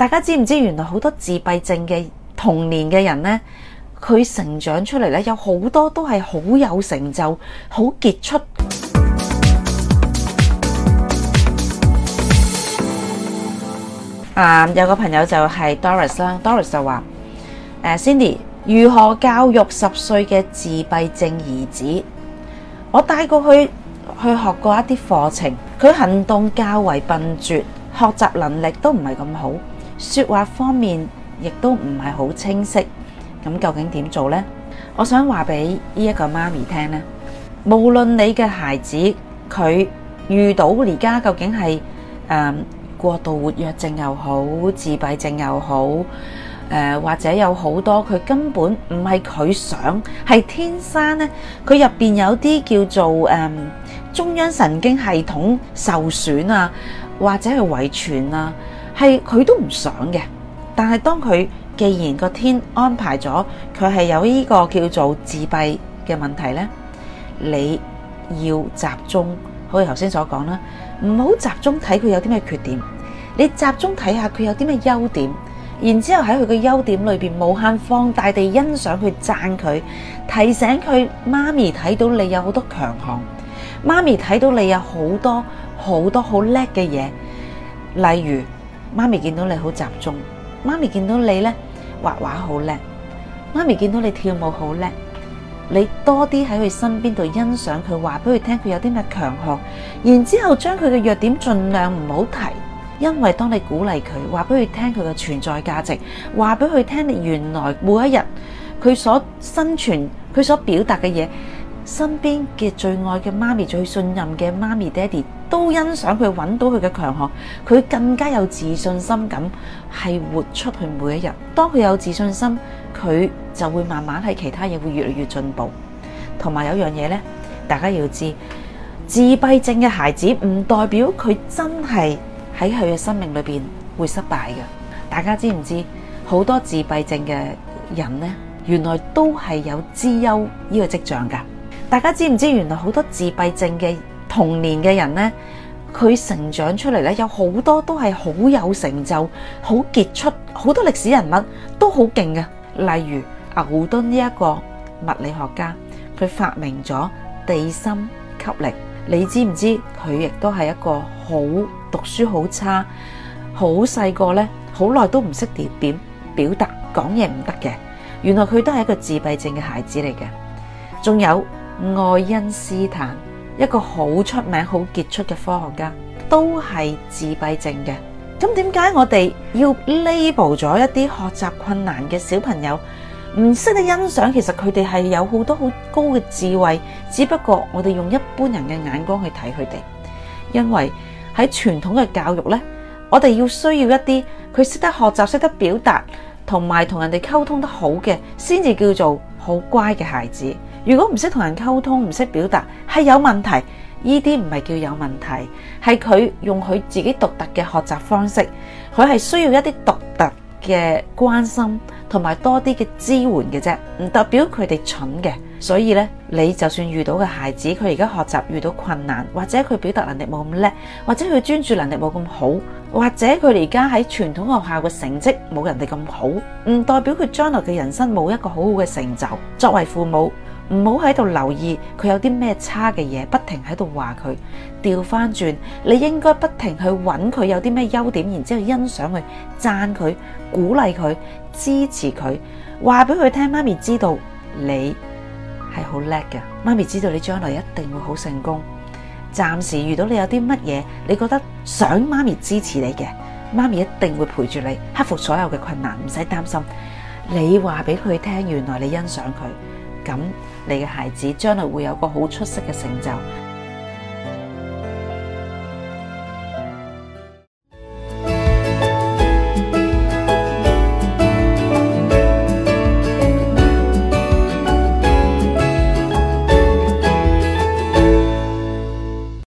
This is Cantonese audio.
大家知唔知原來好多自閉症嘅童年嘅人呢，佢成長出嚟呢，有好多都係好有成就、好傑出。有個朋友就係 Doris 啦，Doris 就話：Cindy， 如何教育10歲嘅自閉症兒子？我帶過去學過一啲課程，佢行動較為笨拙，學習能力都唔係咁好，說話方面亦都唔係好清晰。咁究竟點做呢？我想話俾呢一個媽咪聽呢，無論你嘅孩子佢遇到而家究竟係過度活躍症又好，自閉症又好，或者有好多佢根本唔係佢想，係天生呢，佢入邊有啲叫做中央神經系統受損啊，或者係遺傳啊，係佢都唔想嘅。但係當佢既然個天安排咗佢係有呢個叫做自閉嘅問題呢，你要集中，好似頭先所講啦，唔好集中睇佢有啲咩缺點，你集中睇下佢有啲咩優點，然之後喺佢嘅優點裏邊無限放大地欣賞佢、讚佢，提醒佢媽咪睇到你有好多強項，媽咪睇到你有好多好叻嘅嘢，例如媽咪見到你好集中，媽咪見到你呢畫畫好叻，媽咪見到你跳舞好叻，你多啲喺佢身邊度欣賞佢，話俾佢聽佢有啲咩強項，然之後將佢嘅弱點盡量唔好提，因為當你鼓勵佢，話俾佢聽佢嘅存在價值，話俾佢聽你原來每一日佢所生存佢所表達嘅嘢，身邊嘅最愛嘅媽咪、最信任嘅媽咪爹哋都欣賞佢，揾到佢嘅強項，佢更加有自信心咁係活出去每一日。當佢有自信心，佢就會慢慢喺其他嘢會越嚟越進步。同埋有樣嘢呢，大家要知，自閉症嘅孩子唔代表佢真係喺佢嘅生命裏邊會失敗嘅。大家知唔知好多自閉症嘅人呢，原來都係有資優呢個跡象噶？大家知唔知原來好多自閉症嘅童年嘅人呢，佢成長出嚟呢，有好多都係好有成就、好傑出，好多歷史人物都好勁嘅。例如牛頓呢一個物理學家，佢發明咗地心吸力。你知唔知佢亦都係一個好讀書好差、好細個呢，好耐都唔識點表達、講嘢唔得嘅。原來佢都係一個自閉症嘅孩子嚟嘅。仲有愛因斯坦，一個好出名、好傑出嘅科學家，都係自閉症嘅。咁點解我哋要 label 咗一啲學習困難嘅小朋友，唔識得欣賞？其實佢哋係有好多好高嘅智慧，只不過我哋用一般人嘅眼光去睇佢哋。因為喺傳統嘅教育呢，我哋要需要一啲佢識得學習、識得表達，同埋同人哋溝通得好嘅，先至叫做好乖嘅孩子。如果唔識同人溝通，唔識表達，係有問題。呢啲唔係叫有問題，係佢用佢自己獨特嘅學習方式，佢係需要一啲獨特嘅關心同埋多啲嘅支援嘅啫，唔代表佢哋蠢嘅。所以咧，你就算遇到嘅孩子，佢而家學習遇到困難，或者佢表達能力冇咁叻，或者佢專注能力冇咁好，或者佢而家喺傳統學校嘅成績冇人哋咁好，唔代表佢將來嘅人生冇一個好好嘅成就。作為父母，唔好喺度留意佢有啲咩差嘅嘢，不停喺度話佢。調翻轉，你應該不停去揾佢有啲咩優點，然之後欣賞佢、讚佢、鼓勵佢、支持佢，話俾佢聽，媽咪知道你係好叻嘅，媽咪知道你將來一定會好成功。暫時遇到你有啲乜嘢，你覺得想媽咪支持你嘅，媽咪一定會陪住你克服所有嘅困難，唔使擔心。你話俾佢聽，原來你欣賞佢，咁你嘅孩子將來會有個好出色嘅成就。